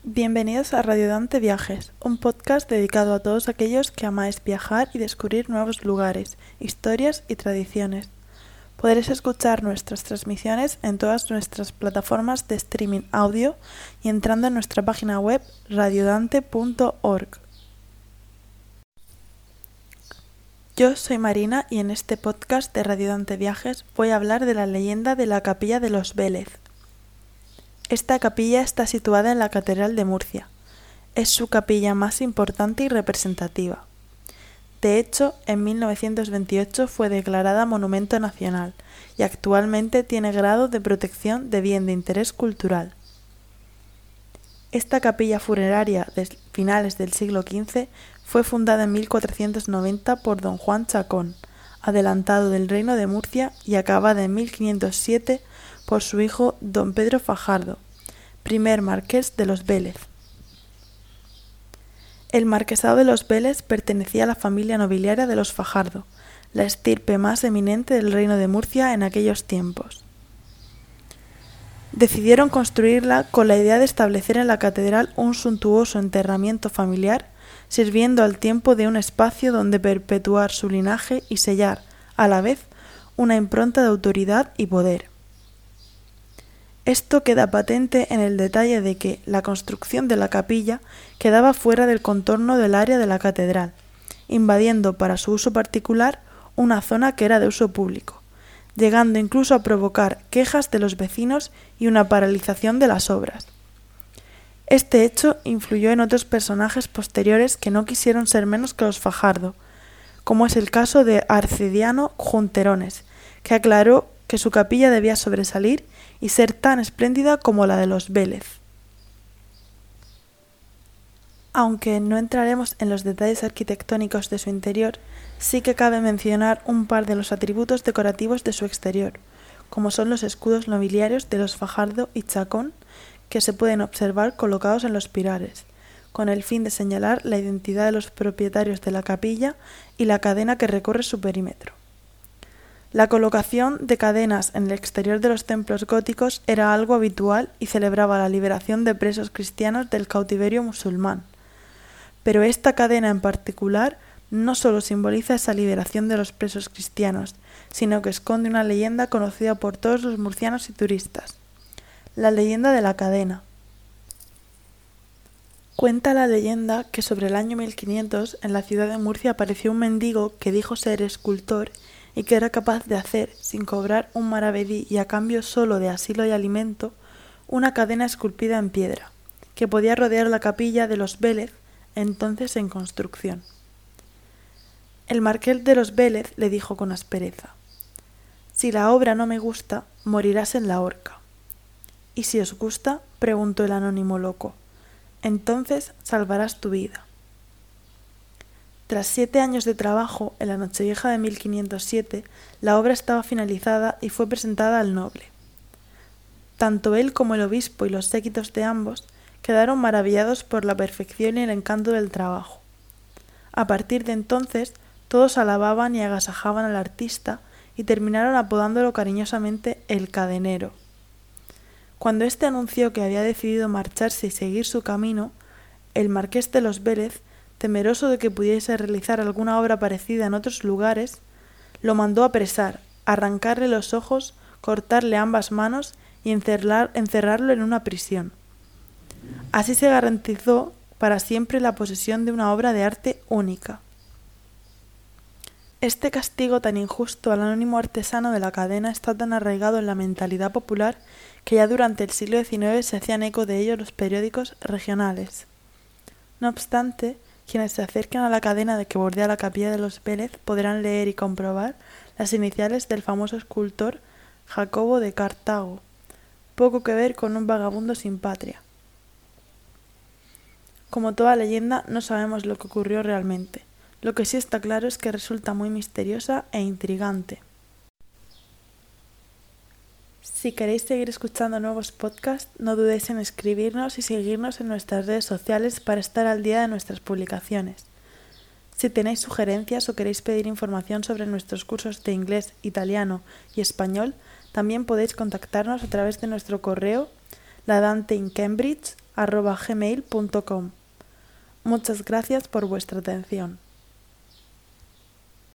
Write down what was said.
Bienvenidos a Radiodante Viajes, un podcast dedicado a todos aquellos que amáis viajar y descubrir nuevos lugares, historias y tradiciones. Podréis escuchar nuestras transmisiones en todas nuestras plataformas de streaming audio y entrando en nuestra página web radiodante.org. Yo soy Marina y en este podcast de Radiodante Viajes voy a hablar de la leyenda de la Capilla de los Vélez. Esta capilla está situada en la Catedral de Murcia. Es su capilla más importante y representativa. De hecho, en 1928 fue declarada Monumento Nacional y actualmente tiene grado de protección de bien de interés cultural. Esta capilla funeraria de finales del siglo XV fue fundada en 1490 por don Juan Chacón, adelantado del Reino de Murcia, y acabada en 1507 por su hijo don Pedro Fajardo, primer marqués de los Vélez. El marquesado de los Vélez pertenecía a la familia nobiliaria de los Fajardo, la estirpe más eminente del Reino de Murcia en aquellos tiempos. Decidieron construirla con la idea de establecer en la catedral un suntuoso enterramiento familiar, sirviendo al tiempo de un espacio donde perpetuar su linaje y sellar, a la vez, una impronta de autoridad y poder. Esto queda patente en el detalle de que la construcción de la capilla quedaba fuera del contorno del área de la catedral, invadiendo para su uso particular una zona que era de uso público, llegando incluso a provocar quejas de los vecinos y una paralización de las obras. Este hecho influyó en otros personajes posteriores que no quisieron ser menos que los Fajardo, como es el caso de Arcediano Junterones, que aclaró que su capilla debía sobresalir y ser tan espléndida como la de los Vélez. Aunque no entraremos en los detalles arquitectónicos de su interior, sí que cabe mencionar un par de los atributos decorativos de su exterior, como son los escudos nobiliarios de los Fajardo y Chacón, que se pueden observar colocados en los pilares, con el fin de señalar la identidad de los propietarios de la capilla y la cadena que recorre su perímetro. La colocación de cadenas en el exterior de los templos góticos era algo habitual y celebraba la liberación de presos cristianos del cautiverio musulmán. Pero esta cadena en particular no solo simboliza esa liberación de los presos cristianos, sino que esconde una leyenda conocida por todos los murcianos y turistas: la leyenda de la cadena. Cuenta la leyenda que sobre el año 1500 en la ciudad de Murcia apareció un mendigo que dijo ser escultor y que era capaz de hacer, sin cobrar un maravedí y a cambio solo de asilo y alimento, una cadena esculpida en piedra, que podía rodear la capilla de los Vélez, entonces en construcción. El marqués de los Vélez le dijo con aspereza: «Si la obra no me gusta, morirás en la horca». «¿Y si os gusta?», preguntó el anónimo loco. «Entonces salvarás tu vida». Tras 7 años de trabajo, en la Nochevieja de 1507, la obra estaba finalizada y fue presentada al noble. Tanto él como el obispo y los séquitos de ambos quedaron maravillados por la perfección y el encanto del trabajo. A partir de entonces, todos alababan y agasajaban al artista y terminaron apodándolo cariñosamente el cadenero. Cuando éste anunció que había decidido marcharse y seguir su camino, el marqués de los Vélez, temeroso de que pudiese realizar alguna obra parecida en otros lugares, lo mandó apresar, arrancarle los ojos, cortarle ambas manos y encerrarlo en una prisión. Así se garantizó para siempre la posesión de una obra de arte única. Este castigo tan injusto al anónimo artesano de la cadena está tan arraigado en la mentalidad popular que ya durante el siglo XIX se hacían eco de ello los periódicos regionales. No obstante, quienes se acerquen a la cadena que bordea la capilla de los Vélez podrán leer y comprobar las iniciales del famoso escultor Jacobo de Cartago, poco que ver con un vagabundo sin patria. Como toda leyenda, no sabemos lo que ocurrió realmente. Lo que sí está claro es que resulta muy misteriosa e intrigante. Si queréis seguir escuchando nuevos podcasts, no dudéis en escribirnos y seguirnos en nuestras redes sociales para estar al día de nuestras publicaciones. Si tenéis sugerencias o queréis pedir información sobre nuestros cursos de inglés, italiano y español, también podéis contactarnos a través de nuestro correo ladanteincambridge gmail.com. Muchas gracias por vuestra atención.